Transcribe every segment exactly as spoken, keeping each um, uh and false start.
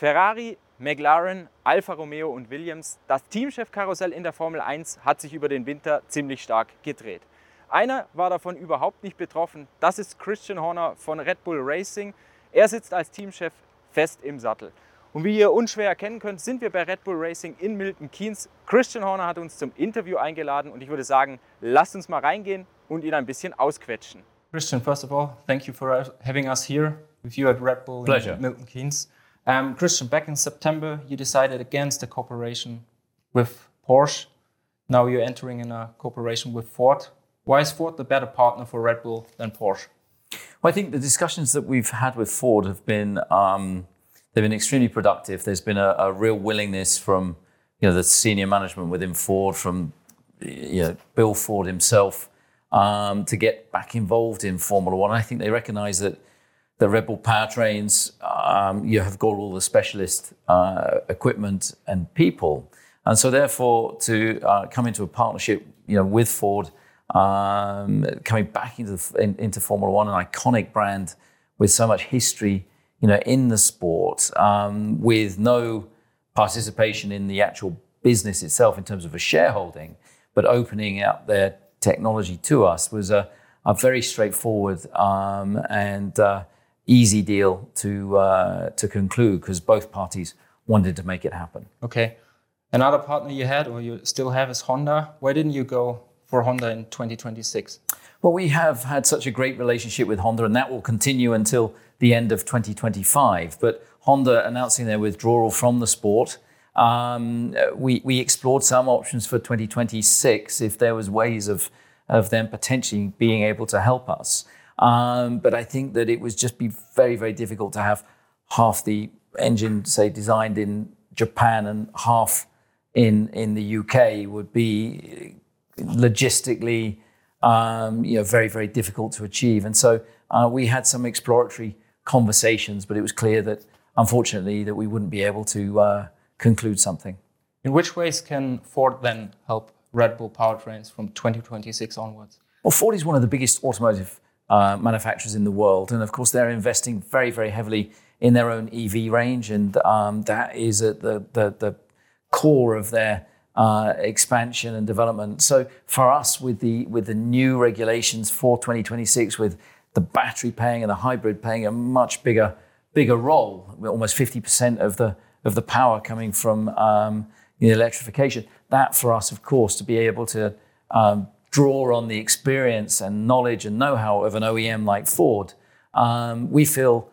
Ferrari, McLaren, Alfa Romeo und Williams, das Teamchefkarussell in der Formel eins hat sich über den Winter ziemlich stark gedreht. Einer war davon überhaupt nicht betroffen, das ist Christian Horner von Red Bull Racing. Er sitzt als Teamchef fest im Sattel. Und wie ihr unschwer erkennen könnt, sind wir bei Red Bull Racing in Milton Keynes. Christian Horner hat uns zum Interview eingeladen und ich würde sagen, lasst uns mal reingehen und ihn ein bisschen ausquetschen. Christian, first of all, thank you for having us here with you at Red Bull Pleasure. in Milton Keynes. Um, Christian, back in September, you decided against a cooperation with Porsche. Now you're entering in a cooperation with Ford. Why is Ford the better partner for Red Bull than Porsche? Well, I think the discussions that we've had with Ford have been um, they've been extremely productive. There's been a, a real willingness from you know the senior management within Ford, from you know Bill Ford himself, um, to get back involved in Formula One. I think they recognise that the Red Bull powertrains, um, you have got all the specialist uh, equipment and people, and so therefore to uh, come into a partnership, you know, with Ford, um, coming back into the, in, into Formula One, an iconic brand with so much history, you know, in the sport, um, with no participation in the actual business itself in terms of a shareholding, but opening up their technology to us was a, a very straightforward um, and uh, easy deal to uh, to conclude, because both parties wanted to make it happen. Okay. Another partner you had, or you still have, is Honda. Why didn't you go for Honda in twenty twenty-six? Well, we have had such a great relationship with Honda, and that will continue until the end of twenty twenty-five. But Honda announcing their withdrawal from the sport, um, we, we explored some options for twenty twenty-six if there was ways of, of them potentially being able to help us. Um, but I think that it would just be very, very difficult to have half the engine, say, designed in Japan and half in in the U K would be logistically, um, you know, very, very difficult to achieve. And so uh, we had some exploratory conversations, but it was clear that, unfortunately, that we wouldn't be able to uh, conclude something. In which ways can Ford then help Red Bull powertrains from twenty twenty-six onwards? Well, Ford is one of the biggest automotive uh, manufacturers in the world. And of course, they're investing very, very heavily in their own E V range. And um, that is at the, the, the core of their uh, expansion and development. So for us, with the with the new regulations for twenty twenty-six, with the battery playing and the hybrid playing a much bigger bigger role, almost fifty percent of the of the power coming from um, you know, electrification, that for us, of course, to be able to um, draw on the experience and knowledge and know-how of an O E M like Ford, um, we feel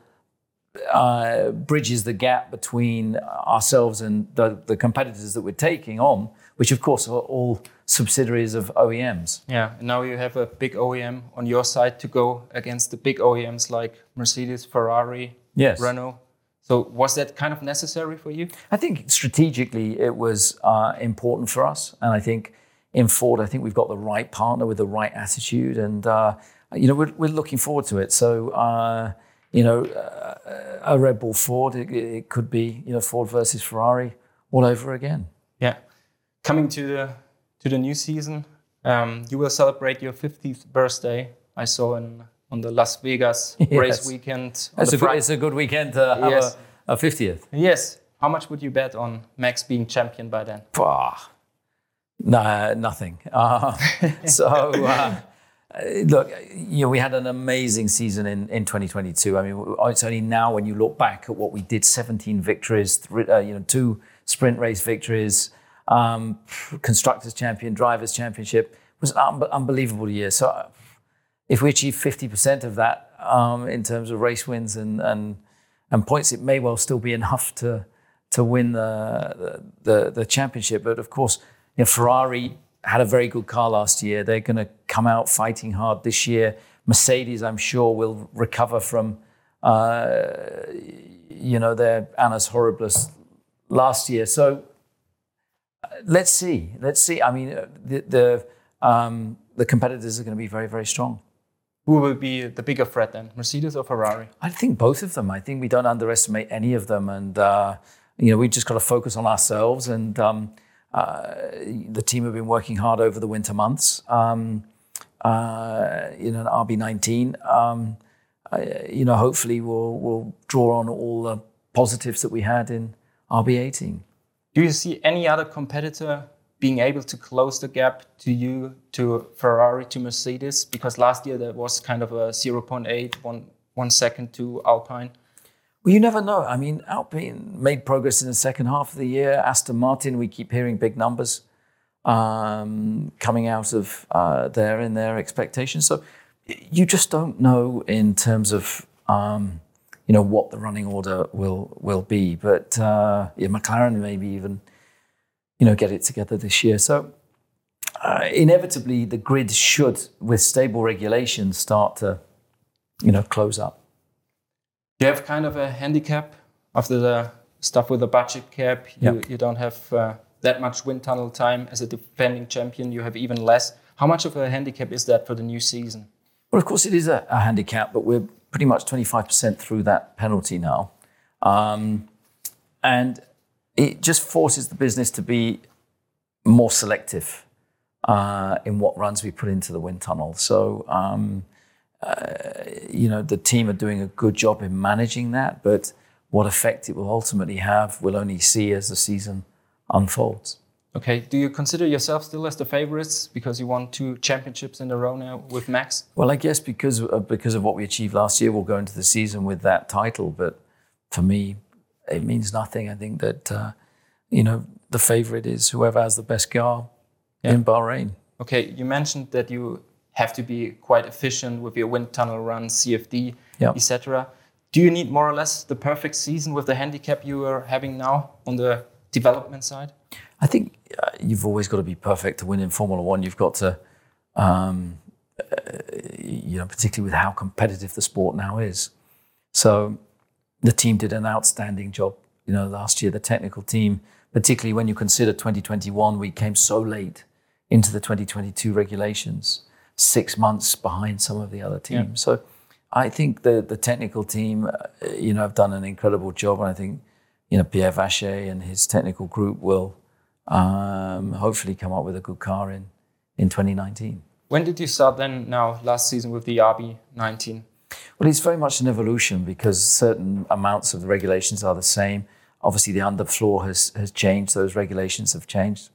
uh, bridges the gap between ourselves and the, the competitors that we're taking on, which of course are all subsidiaries of O E Ms. Yeah, and now you have a big O E M on your side to go against the big O E Ms like Mercedes, Ferrari, yes. Renault. So was that kind of necessary for you? I think strategically it was uh, important for us. And I think in Ford, I think we've got the right partner with the right attitude. And, uh, you know, we're, we're looking forward to it. So, uh, you know, uh, a Red Bull Ford, it, it could be, you know, Ford versus Ferrari all over again. Yeah. Coming to the to the new season, um, you will celebrate your fiftieth birthday. I saw in on the Las Vegas yes. race weekend. It's a, good, it's a good weekend to have yes. a, a fiftieth. Yes. How much would you bet on Max being champion by then? Ah, no, nothing. Uh, so, uh, look, you know, we had an amazing season in, in twenty twenty-two. I mean, it's only now when you look back at what we did: seventeen victories, three, uh, you know, two sprint race victories, um, constructors champion, drivers championship. It was an un- unbelievable year. So, if we achieve fifty percent of that um, in terms of race wins and, and and points, it may well still be enough to to win the the, the championship. But of course, you know, Ferrari had a very good car last year. They're going to come out fighting hard this year. Mercedes, I'm sure, will recover from uh, you know their annus horribilis last year. So uh, let's see, let's see. I mean, the the, um, the competitors are going to be very, very strong. Who will be the bigger threat then, Mercedes or Ferrari? I think both of them. I think we don't underestimate any of them. And, uh, you know, we just got to focus on ourselves. And um, uh, the team have been working hard over the winter months. Um, uh, you know, an R B nineteen, um, uh, you know, hopefully we'll, we'll draw on all the positives that we had in R B eighteen. Do you see any other competitor being able to close the gap to you, to Ferrari, to Mercedes? Because last year there was kind of a zero point eight, one, one second to Alpine. Well, you never know. I mean, Alpine made progress in the second half of the year. Aston Martin, we keep hearing big numbers um, coming out of uh, there in their expectations. So you just don't know in terms of, um, you know, what the running order will will be. But uh, yeah, McLaren maybe even, you know, get it together this year. So uh, inevitably the grid should, with stable regulations, start to, you know, close up. You have kind of a handicap after the stuff with the budget cap. You, Yep. you don't have uh, that much wind tunnel time. As a defending champion, you have even less. How much of a handicap is that for the new season? Well, of course it is a, a handicap, but we're pretty much twenty-five percent through that penalty now. Um, and it just forces the business to be more selective uh, in what runs we put into the wind tunnel. So, um, uh, you know, the team are doing a good job in managing that, but what effect it will ultimately have, we'll only see as the season unfolds. Okay, do you consider yourself still as the favorites because you won two championships in a row now with Max? Well, I guess because of, because of what we achieved last year, we'll go into the season with that title. But for me, it means nothing. I think that, uh, you know, the favorite is whoever has the best car Yeah. in Bahrain. Okay, you mentioned that you have to be quite efficient with your wind tunnel runs, C F D, Yep. et cetera. Do you need more or less the perfect season with the handicap you are having now on the development side? I think uh, you've always got to be perfect to win in Formula One. You've got to, um, uh, you know, particularly with how competitive the sport now is. So the team did an outstanding job, you know, last year, the technical team, particularly when you consider twenty twenty-one, we came so late into the twenty twenty-two regulations, six months behind some of the other teams. Yeah. So I think the, the technical team, uh, you know, have done an incredible job. And I think, you know, Pierre Vacher and his technical group will um, hopefully come up with a good car in, in twenty nineteen. When did you start then now last season with the R B nineteen? Well, it's very much an evolution because certain amounts of the regulations are the same. Obviously, the underfloor has, has changed. Those regulations have changed.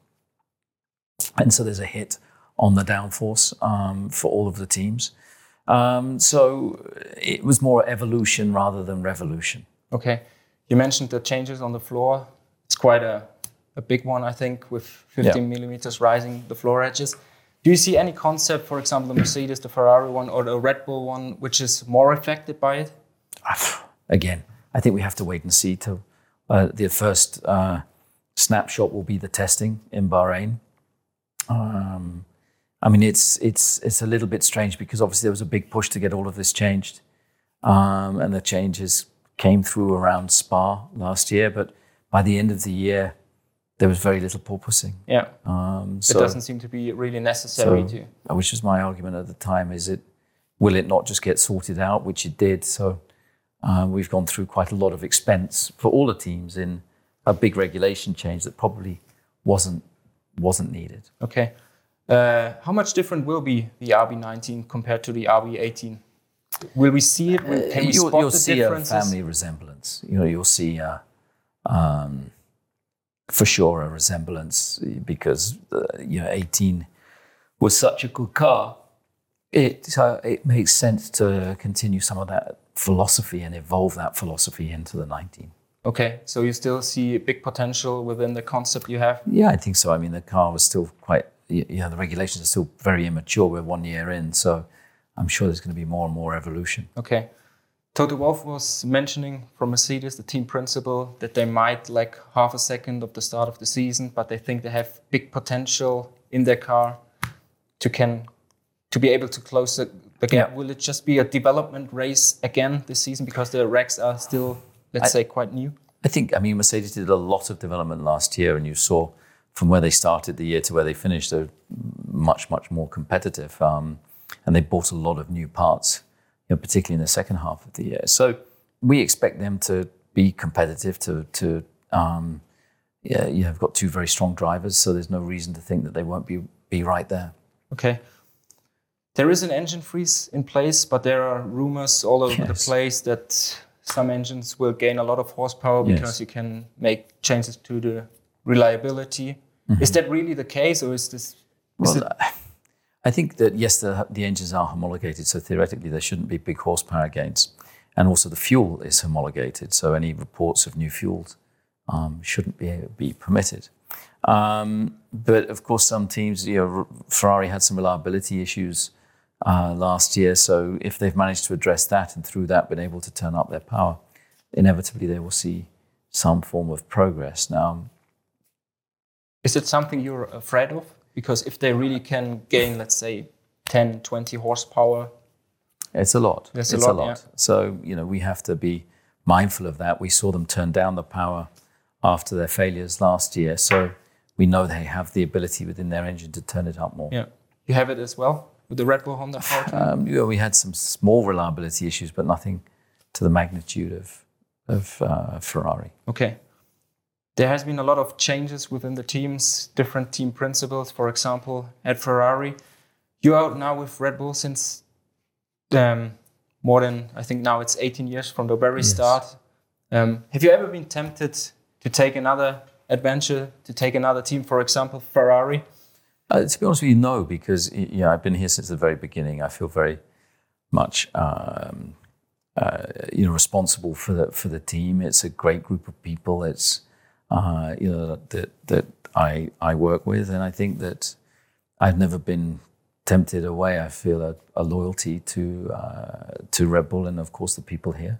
And so there's a hit on the downforce um, for all of the teams. Um, so it was more evolution rather than revolution. Okay. You mentioned the changes on the floor. It's quite a, a big one, I think, with fifteen Yeah. millimeters rising the floor edges. Do you see any concept, for example, the Mercedes, the Ferrari one, or the Red Bull one, which is more affected by it? Again, I think we have to wait and see till uh, the first uh, snapshot will be the testing in Bahrain. Um, I mean, it's it's it's a little bit strange because obviously there was a big push to get all of this changed, um, and the changes came through around Spa last year. But by the end of the year, there was very little porpoising. Yeah. Um, It so, doesn't seem to be really necessary so, to. which was my argument at the time: is it will it not just get sorted out, which it did? So uh, we've gone through quite a lot of expense for all the teams in a big regulation change that probably wasn't wasn't needed. Okay. Uh, how much different will be the R B nineteen compared to the R B eighteen? Will we see it? Will, can we you'll, spot you'll the see differences? a family resemblance. You know, you'll see uh, um, for sure a resemblance because uh, you know eighteen was such a good car. It uh, it makes sense to continue some of that philosophy and evolve that philosophy into the nineteen. Okay, so you still see big potential within the concept you have? Yeah, I think so. I mean, the car was still quite. You know, the regulations are still very immature. We're one year in, so I'm sure there's going to be more and more evolution. Okay. Toto Wolff was mentioning from Mercedes, the team principal, that they might lack half a second of the start of the season, but they think they have big potential in their car to can to be able to close the, the gap. Yeah. Will it just be a development race again this season because the racks are still, let's I, say, quite new? I think, I mean, Mercedes did a lot of development last year, and you saw from where they started the year to where they finished, they're much, much more competitive. Um, and they bought a lot of new parts, you know, particularly in the second half of the year. So we expect them to be competitive, to, to um, yeah, you have got two very strong drivers, so there's no reason to think that they won't be, be right there. Okay. There is an engine freeze in place, but there are rumors all over Yes. the place that some engines will gain a lot of horsepower because Yes. you can make changes to the reliability. Mm-hmm. Is that really the case, or is this? Is Well, it, I think that, yes, the, the engines are homologated, so theoretically there shouldn't be big horsepower gains. And also the fuel is homologated, so any reports of new fuels um, shouldn't be, be permitted. Um, but of course, some teams, you know, Ferrari had some reliability issues uh, last year, so if they've managed to address that and through that been able to turn up their power, inevitably they will see some form of progress. Now, is it something you're afraid of? Because if they really can gain, let's say, ten, twenty horsepower, it's a lot. It's it's a a lot, lot. yeah. So, you know, we have to be mindful of that. We saw them turn down the power after their failures last year. So we know they have the ability within their engine to turn it up more. yeah, you have it as well with the Red Bull Honda powertrain. Um, you know, we had some small reliability issues, but nothing to the magnitude of, of uh, Ferrari. Okay. There has been a lot of changes within the teams, different team principles. For example, at Ferrari, you're out now with Red Bull since um, more than, I think now it's eighteen years from the very Yes. start. Um, have you ever been tempted to take another adventure, to take another team, for example, Ferrari? Uh, to be honest with you, no, because y- you know, I've been here since the very beginning. I feel very much um, uh, you know, responsible for the, for the team. It's a great group of people. It's Uh, you know, that that I I work with, and I think that I've never been tempted away. I feel a, a loyalty to uh, to Red Bull, and of course the people here.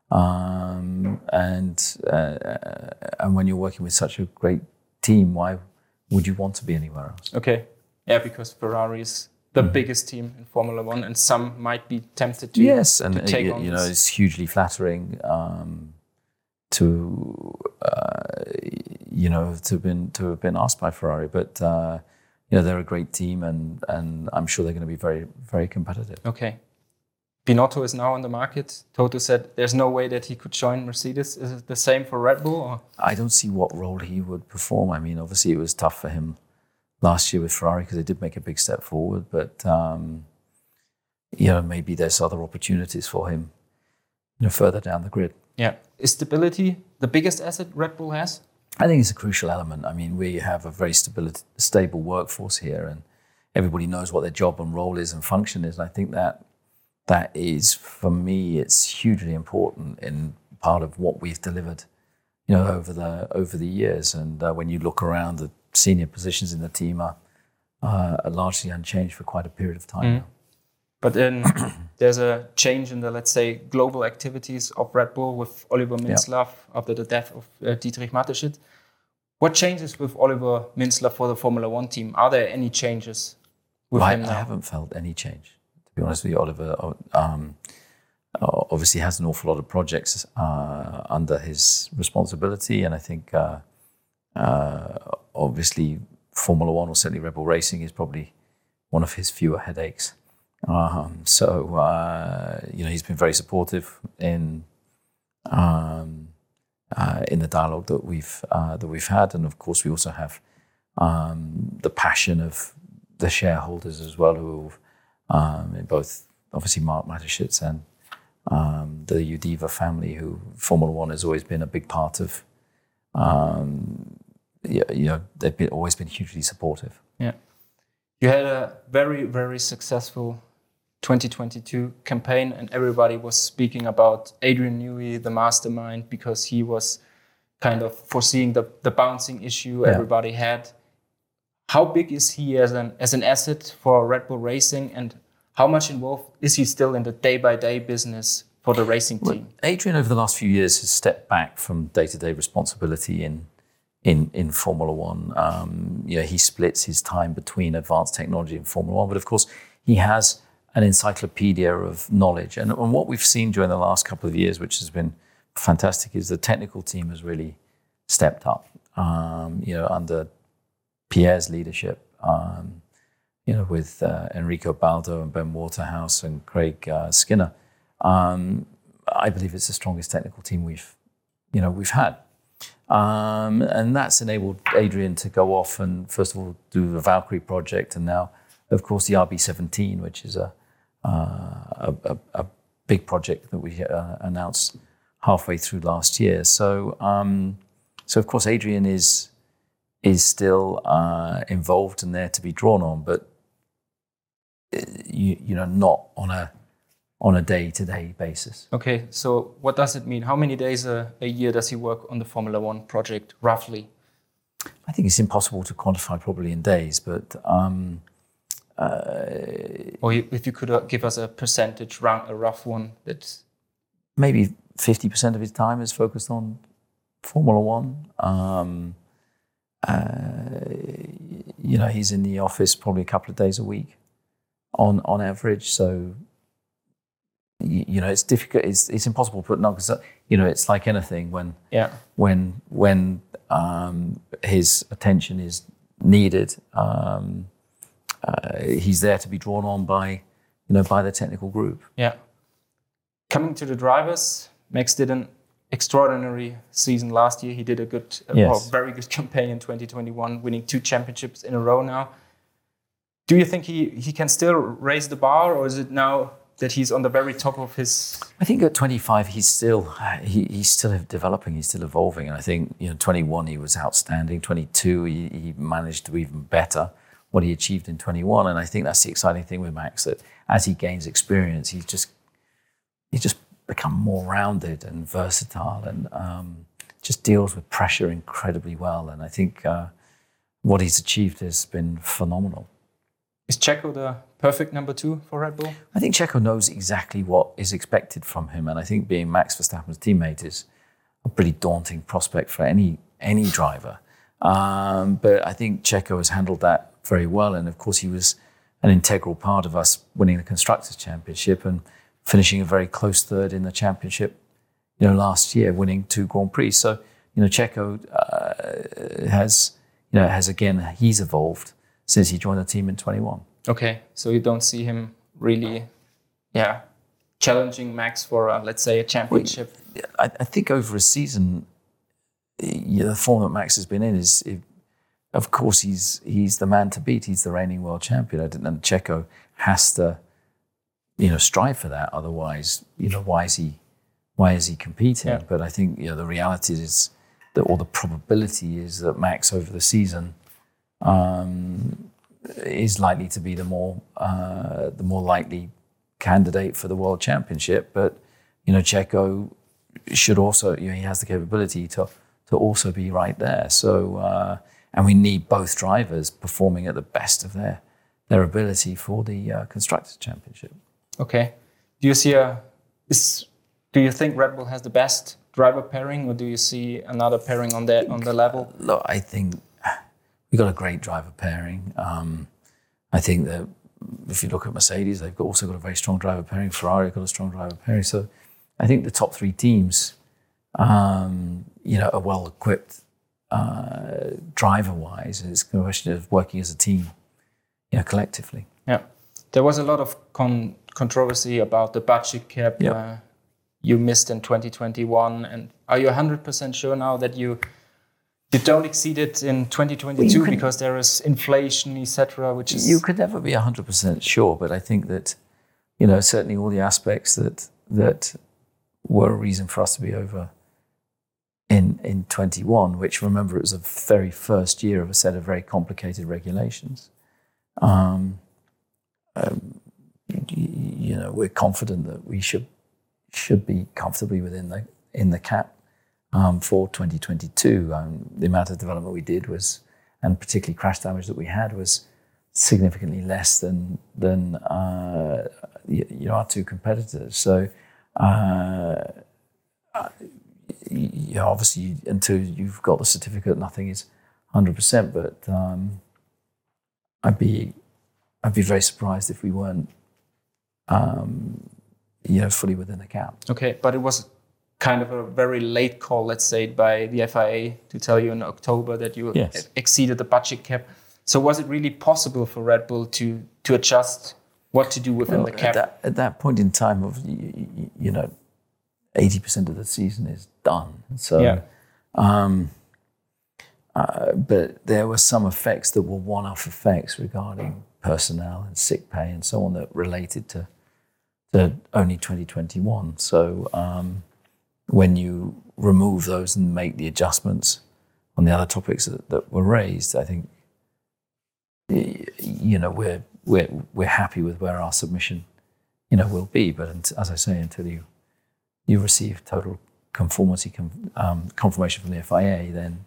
Um, and uh, and when you're working with such a great team, why would you want to be anywhere else? Okay, yeah, because Ferrari is the mm-hmm. biggest team in Formula One, and some might be tempted to yes, and to take you, on you know, this. it's hugely flattering. Um, to uh, you know to have been to have been asked by Ferrari, but uh, you know, they're a great team, and and I'm sure they're going to be very very competitive. Okay, Binotto is now on the market. Toto said there's no way that he could join Mercedes. Is it the same for Red Bull? Or? I don't see what role he would perform. I mean, obviously it was tough for him last year with Ferrari because they did make a big step forward, but um, you know, maybe there's other opportunities for him, you know, further down the grid. Yeah. Is stability the biggest asset Red Bull has? I think it's a crucial element. I mean, we have a very stability, stable workforce here, and everybody knows what their job and role is and function is. And I think that that is, for me, it's hugely important in part of what we've delivered, you know, over the over the years. And uh, when you look around, the senior positions in the team are, uh, are largely unchanged for quite a period of time Mm. now. But then there's a change in the, let's say, global activities of Red Bull with Oliver Mintzlaff yeah. after the death of uh, Dietrich Mateschitz. What changes with Oliver Mintzlaff for the Formula One team? Are there any changes with well, him I, now? I haven't felt any change, to be honest with you. Oliver um, obviously has an awful lot of projects uh, under his responsibility, and I think uh, uh, obviously Formula One, or certainly Red Bull Racing, is probably one of his fewer headaches. Um, so uh, you know, he's been very supportive in um, uh, in the dialogue that we've uh, that we've had, and of course we also have um, the passion of the shareholders as well, who um, in both obviously Mark Mateschitz and um, the Udiva family, who Formula One has always been a big part of. Um, you know, they've been, always been hugely supportive. Yeah, you had a very very successful twenty twenty-two campaign, and everybody was speaking about Adrian Newey, the mastermind, because he was kind of foreseeing the, the bouncing issue yeah. everybody had. How big is he as an as an asset for Red Bull Racing, and how much involved is he still in the day-by-day business for the racing team? Well, Adrian, over the last few years, has stepped back from day-to-day responsibility in in in Formula One. Um, you know, he splits his time between advanced technology and Formula One, but of course, he has an encyclopedia of knowledge. And, and what we've seen during the last couple of years, which has been fantastic, is the technical team has really stepped up. Um, you know, under Pierre's leadership, um, you know, with uh, Enrico Baldo and Ben Waterhouse and Craig uh, Skinner, um, I believe it's the strongest technical team we've, you know, we've had. Um, and that's enabled Adrian to go off and, first of all, do the Valkyrie project, and now, of course, the R B seventeen, which is a uh, a, a, a big project that we uh, announced halfway through last year. So, um, so of course, Adrian is is still uh, involved and there to be drawn on, but you, you know, not on a on a day-to-day basis. Okay, so what does it mean? How many days a, a year does he work on the Formula One project, roughly? I think it's impossible to quantify probably in days, but um, uh, or if you could uh, give us a percentage, round, a rough one. That's maybe fifty percent of his time is focused on Formula One. Um, uh, you know, he's in the office probably a couple of days a week on on average. So, you, you know, it's difficult. It's it's impossible to put no, because you know, it's like anything when yeah when when um, his attention is needed. Um, uh, he's there to be drawn on by you know by the technical group. Yeah. Coming to the drivers, Max did an extraordinary season last year. He did a good, uh, yes. well, very good campaign in twenty twenty-one, winning two championships in a row now. Do you think he, he can still raise the bar, or is it now that he's on the very top of his? I think at twenty-five he's still he, he's still developing, he's still evolving, and I think you know twenty-one he was outstanding. twenty-two he, he managed to even better what he achieved in twenty-one, and I think that's the exciting thing with Max, that as he gains experience, he's just he's just become more rounded and versatile, and um, just deals with pressure incredibly well. And I think uh, what he's achieved has been phenomenal. Is Checo the perfect number two for Red Bull? I think Checo knows exactly what is expected from him, and I think being Max Verstappen's teammate is a pretty daunting prospect for any any driver. Um, but I think Checo has handled that very well, and of course he was an integral part of us winning the Constructors' Championship and finishing a very close third in the championship, you know, last year, winning two Grand Prix. So, you know, Checo uh, has, you know, has again, he's evolved since he joined the team in twenty-one. Okay, so you don't see him really, yeah, challenging Max for, uh, let's say, a championship? Well, I, I think over a season, you know, the form that Max has been in is, it, of course, he's he's the man to beat. He's the reigning world champion, and Checo has to, you know, strive for that. Otherwise, you know, why is he, why is he competing? Yeah. But I think, you know, the reality is that, or the probability is that Max over the season um, is likely to be the more, uh, the more likely candidate for the world championship. But, you know, Checo should also, you know, he has the capability to to also be right there. So, uh, and we need both drivers performing at the best of their their ability for the uh, Constructors' Championship. Okay. Do you see a is do you think Red Bull has the best driver pairing, or do you see another pairing on that on the level? Look, I think we got a great driver pairing. Um, I think that if you look at Mercedes, they've got also got a very strong driver pairing. Ferrari got a strong driver pairing. So I think the top three teams, um, you know, are well equipped uh, driver-wise. It's a question of working as a team, you know, collectively. Yeah. There was a lot of con- controversy about the budget cap yep. uh, you missed in twenty twenty-one. And are you one hundred percent sure now that you you don't exceed it in twenty twenty-two, well, can, because there is inflation, et cetera, which is... You could never be one hundred percent sure, but I think that, you know, certainly all the aspects that that were a reason for us to be over in in twenty-one, which, remember, it was the very first year of a set of very complicated regulations. Um, um, you know, we're confident that we should should be comfortably within the in the cap um, for twenty twenty-two. Um, the amount of development we did was, and particularly crash damage that we had, was significantly less than than uh, you, you know, our two competitors. So, uh, you know, obviously, until you've got the certificate, nothing is one hundred percent. But um, I'd be I'd be very surprised if we weren't, um, you know, fully within the cap. Okay, but it was kind of a very late call, let's say, by the F I A to tell you in October that you yes. exceeded the budget cap. So was it really possible for Red Bull to to adjust what to do within well, the cap? At that, at that point in time, of you, you know, eighty percent of the season is done. So, yeah. um, uh, but there were some effects that were one-off effects regarding personnel and sick pay and so on that related to, to only twenty twenty-one. So, um, when you remove those and make the adjustments on the other topics that, that were raised, I think, you know, we're we're we're happy with where our submission, you know, will be. But as I say, until you you receive total conformity um, confirmation from the F I A, then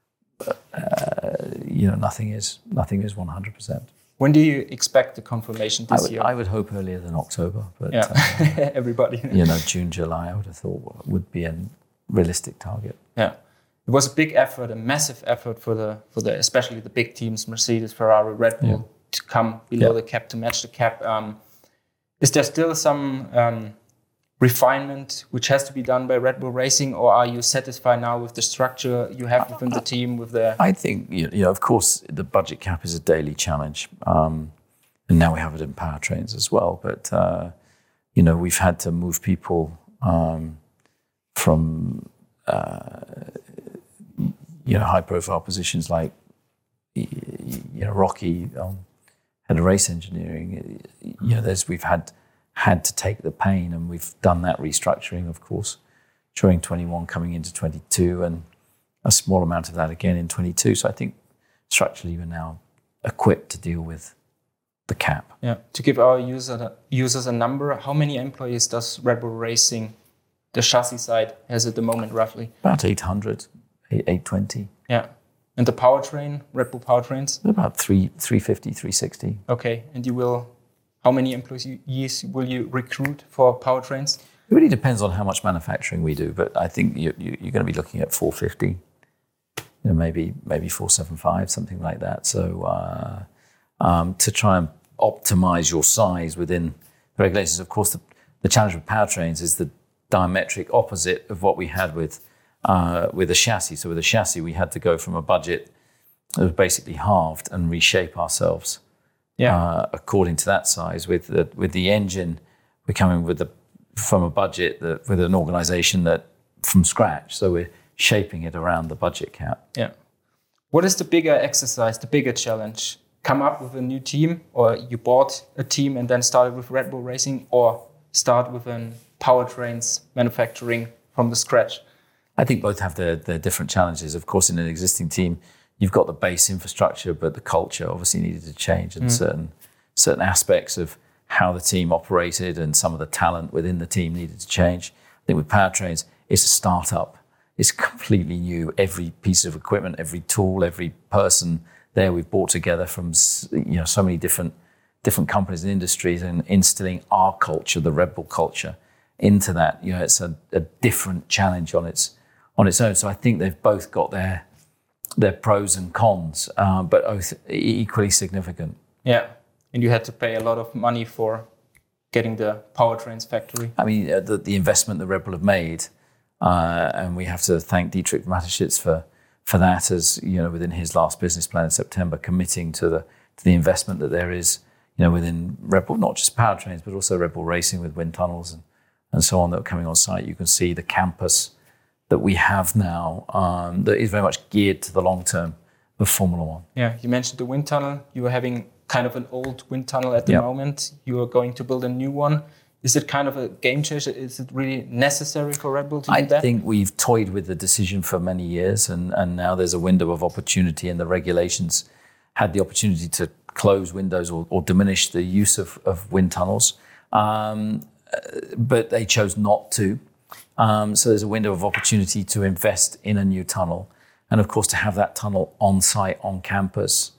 uh, you know nothing is nothing is one hundred percent. When do you expect the confirmation this I would, year? I would hope earlier than October, but yeah. uh, everybody, you know, June, July, I would have thought would be a realistic target. Yeah, it was a big effort, a massive effort for the for the especially the big teams, Mercedes, Ferrari, Red Bull, yeah. to come below yeah. the cap, to match the cap. Um, is there still some um, refinement which has to be done by Red Bull Racing, or are you satisfied now with the structure you have within the team? With the I think you know, of course, the budget cap is a daily challenge, um, and now we have it in powertrains as well. But uh, you know, we've had to move people um, from uh, you know high-profile positions like you know Rocky, um, head of race engineering. You know, there's we've had. had to take the pain, and we've done that restructuring, of course, during twenty-one coming into twenty-two, and a small amount of that again in twenty-two. So I think structurally we're now equipped to deal with the cap. Yeah. To give our user, users a number, how many employees does Red Bull Racing, the chassis side, has at the moment roughly? About eight hundred, eight twenty. Yeah. And the powertrain, Red Bull powertrains? About three, three fifty, three sixty. Okay. And you will... How many employees will you recruit for powertrains? It really depends on how much manufacturing we do, but I think you, you, you're going to be looking at four fifty, you know, maybe maybe four seventy-five, something like that. So uh, um, to try and optimize your size within the regulations, of course, the, the challenge with powertrains is the diametric opposite of what we had with uh, with a chassis. So with a chassis, we had to go from a budget that was basically halved and reshape ourselves. Yeah. Uh, according to that size. With the with the engine, we're coming with the from a budget that with an organisation that from scratch. So we're shaping it around the budget cap. Yeah. What is the bigger exercise, the bigger challenge? Come up with a new team, or you bought a team and then started with Red Bull Racing, or start with an powertrains manufacturing from the scratch? I think both have their their different challenges. Of course, in an existing team, you've got the base infrastructure, but the culture obviously needed to change, and mm. certain certain aspects of how the team operated and some of the talent within the team needed to change. I think with powertrains, it's a startup. It's completely new. Every piece of equipment, every tool, every person there we've brought together from you know so many different different companies and industries, and instilling our culture, the Red Bull culture, into that. You know, it's a, a different challenge on its on its own. So I think they've both got their their pros and cons, uh, but both equally significant. Yeah, and you had to pay a lot of money for getting the powertrains factory. I mean, uh, the, the investment that Red Bull have made, uh, and we have to thank Dietrich Mateschitz for for that, as you know, within his last business plan in September, committing to the to the investment that there is, you know, within Red Bull, not just powertrains, but also Red Bull Racing with wind tunnels and and so on that are coming on site. You can see the campus that we have now um, that is very much geared to the long term of Formula One. Yeah, you mentioned the wind tunnel. You are having kind of an old wind tunnel at the yep. moment. You are going to build a new one. Is it kind of a game changer? Is it really necessary for Red Bull to do I that? I think we've toyed with the decision for many years, and, and now there's a window of opportunity, and the regulations had the opportunity to close windows or, or diminish the use of, of wind tunnels, um, but they chose not to. Um, so there's a window of opportunity to invest in a new tunnel. And of course, to have that tunnel on site, on campus,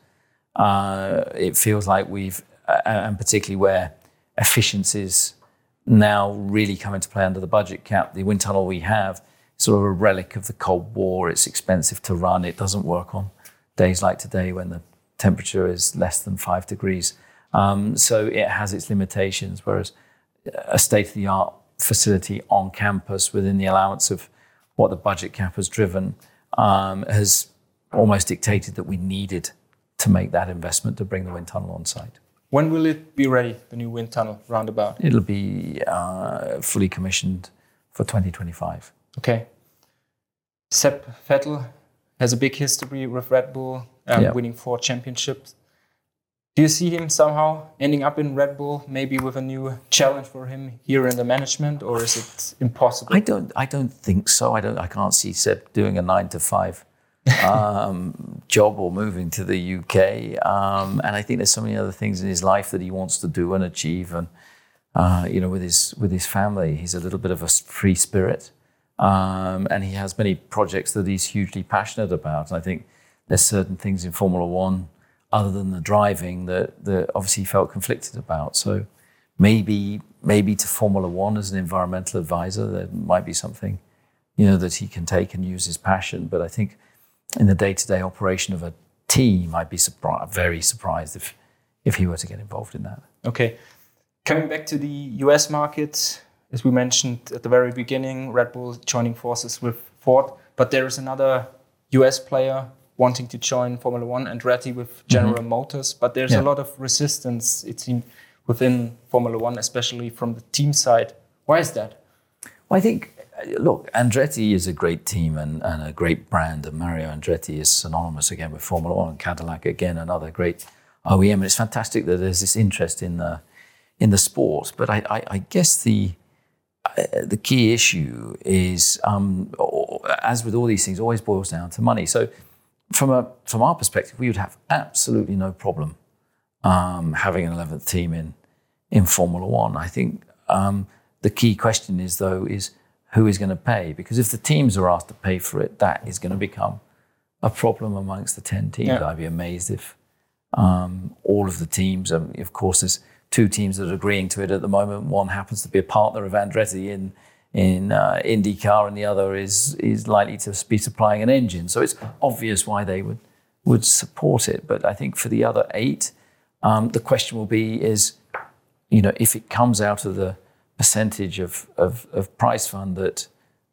uh, it feels like we've, uh, and particularly where efficiencies now really come into play under the budget cap. The wind tunnel we have is sort of a relic of the Cold War. It's expensive to run. It doesn't work on days like today when the temperature is less than five degrees. Um, so it has its limitations, whereas a state-of-the-art facility on campus within the allowance of what the budget cap has driven um, has almost dictated that we needed to make that investment to bring the wind tunnel on site. When will it be ready, the new wind tunnel roundabout? It'll be uh, fully commissioned for twenty twenty-five. Okay. Sepp Vettel has a big history with Red Bull, um, yeah. winning four championships. Do you see him somehow ending up in Red Bull, maybe with a new challenge for him here in the management, or is it impossible? I don't. I don't think so. I don't. I can't see Seb doing a nine to five um, job or moving to the U K. Um, and I think there's so many other things in his life that he wants to do and achieve. And uh, you know, with his with his family, he's a little bit of a free spirit, um, and he has many projects that he's hugely passionate about. And I think there's certain things in Formula One, other than the driving, that, that obviously he felt conflicted about. So maybe maybe to Formula One as an environmental advisor, there might be something, you know, that he can take and use his passion. But I think in the day-to-day operation of a team, I'd be surprised, very surprised if if he were to get involved in that. Okay. Coming back to the U S market, as we mentioned at the very beginning, Red Bull joining forces with Ford, but there is another U S player wanting to join Formula One, Andretti with General mm-hmm. Motors, but there's yeah. a lot of resistance, it seems, within Formula One, especially from the team side. Why is that? Well, I think, look, Andretti is a great team and, and a great brand, and Mario Andretti is synonymous again with Formula One, and Cadillac again, another great O E M, and it's fantastic that there's this interest in the in the sport. But I, I, I guess the uh, the key issue is, um, as with all these things, always boils down to money. So from a from our perspective, we would have absolutely no problem um, having an eleventh team in in Formula One. I think um, the key question is, though, is who is going to pay? Because if the teams are asked to pay for it, that is going to become a problem amongst the ten teams. Yeah. I'd be amazed if um, all of the teams, um, of course, there's two teams that are agreeing to it at the moment. One happens to be a partner of Andretti in in uh, IndyCar, and the other is is likely to be supplying an engine. So it's obvious why they would would support it. But I think for the other eight, um, the question will be is, you know, if it comes out of the percentage of of, of prize fund that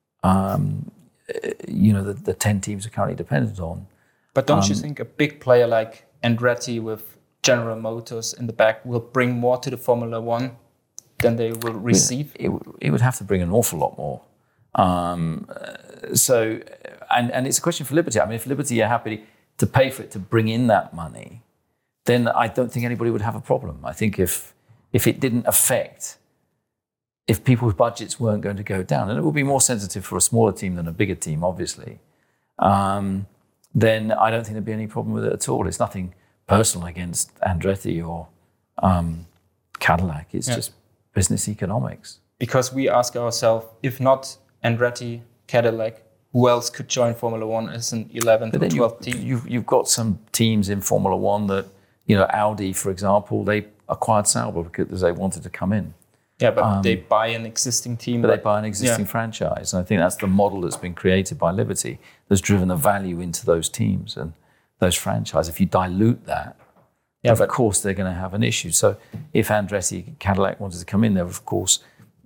um, you know the, the ten teams are currently dependent on. But don't um, you think a big player like Andretti with General Motors in the back will bring more to the Formula One than they will receive? It, it, it would have to bring an awful lot more. Um, so, and, and it's a question for Liberty. I mean, if Liberty are happy to pay for it to bring in that money, then I don't think anybody would have a problem. I think if if it didn't affect, if people's budgets weren't going to go down, and it would be more sensitive for a smaller team than a bigger team, obviously, um, then I don't think there'd be any problem with it at all. It's nothing personal against Andretti or um, Cadillac. It's yeah. just business economics. Because we ask ourselves, if not Andretti, Cadillac, who else could join Formula One as an eleventh or twelfth you, team? You've, you've got some teams in Formula One that, you know, Audi, for example, they acquired Sauber because they wanted to come in. Yeah, but um, they buy an existing team. But they buy an existing yeah. franchise. And I think that's the model that's been created by Liberty that's driven the value into those teams and those franchises. If you dilute that, yeah, of but, course they're going to have an issue. So if Andretti, Cadillac wanted to come in there, of course,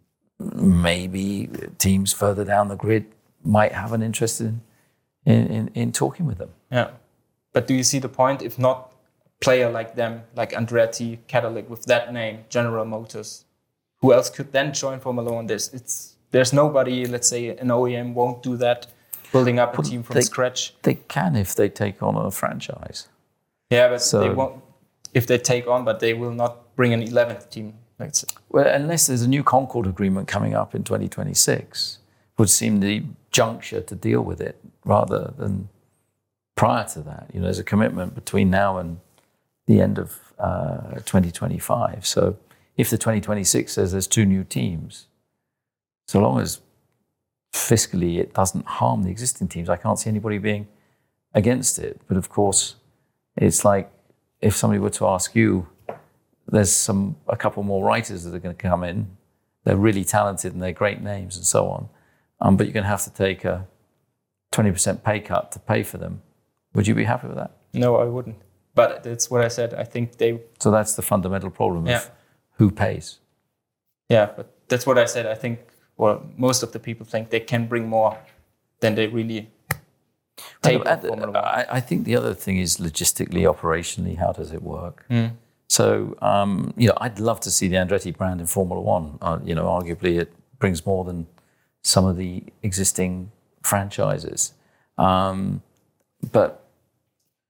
maybe teams further down the grid might have an interest in, in, in, in talking with them. Yeah. But do you see the point? If not a player like them, like Andretti, Cadillac, with that name, General Motors, who else could then join Formula One? There's, it's, there's nobody, let's say an O E M won't do that, building up a well, team from they, scratch. They can if they take on a franchise. Yeah, but so, they won't, if they take on, but they will not bring an eleventh team. Let's say. Well, unless there's a new Concord agreement coming up in twenty twenty-six, would seem the juncture to deal with it rather than prior to that. You know, there's a commitment between now and the end of uh, twenty twenty-five. So if the twenty twenty-six says there's two new teams, so long as fiscally it doesn't harm the existing teams, I can't see anybody being against it. But of course, it's like if somebody were to ask you, there's some a couple more writers that are going to come in. They're really talented and they're great names and so on. Um, but you're going to have to take a twenty percent pay cut to pay for them. Would you be happy with that? No, I wouldn't. But that's what I said. I think they... So that's the fundamental problem yeah. of who pays. Yeah, but that's what I said. I think, well, most of the people think they can bring more than they really take and, from Formula One. I, I think the other thing is logistically, operationally, how does it work? Mm. So, um, you know, I'd love to see the Andretti brand in Formula One. Uh, you know, arguably it brings more than some of the existing franchises. Um, but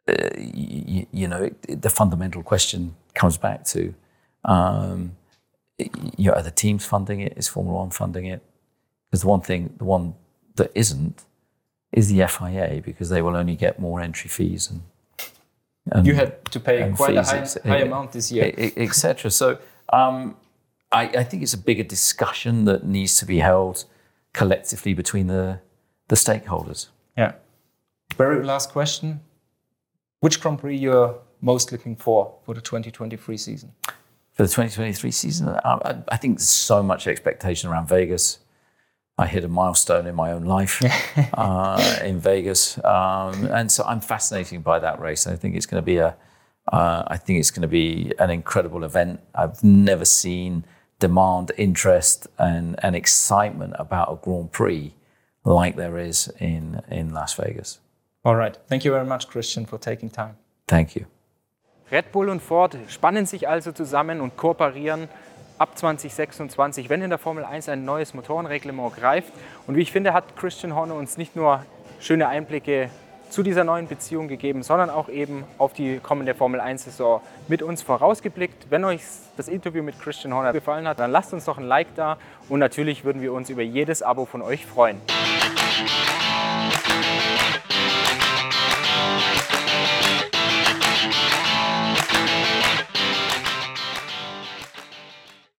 uh, you, you know, it, the fundamental question comes back to, um, you know, are the teams funding it? Is Formula One funding it? Because the one thing, the one that isn't, is the F I A, because they will only get more entry fees and. and you had to pay quite fees, a high, ex- high amount this year, et cetera. So um, I, I think it's a bigger discussion that needs to be held collectively between the the stakeholders. Yeah. Very last question: which Grand Prix you're most looking for for the twenty twenty-three season? For the twenty twenty-three season, I, I think there's so much expectation around Vegas. I hit a milestone in my own life uh, in Vegas, um, and so I'm fascinated by that race. I think it's going to be a, uh, I think it's going to be an incredible event. I've never seen demand, interest, and, and excitement about a Grand Prix like there is in in Las Vegas. All right, thank you very much, Christian, for taking time. Thank you. Red Bull und Ford spannen sich also zusammen und kooperieren ab zwanzig sechsundzwanzig, wenn in der Formel eins ein neues Motorenreglement greift. Und wie ich finde, hat Christian Horner uns nicht nur schöne Einblicke zu dieser neuen Beziehung gegeben, sondern auch eben auf die kommende Formel eins-Saison mit uns vorausgeblickt. Wenn euch das Interview mit Christian Horner gefallen hat, dann lasst uns doch ein Like da und natürlich würden wir uns über jedes Abo von euch freuen.